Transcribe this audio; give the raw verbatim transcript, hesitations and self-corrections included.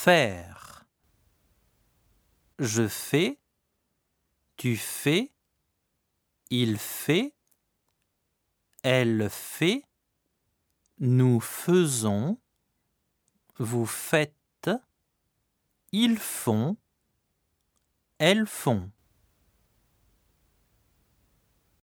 faire. Je fais, tu fais, il fait, elle fait, nous faisons, vous faites, ils font, elles font.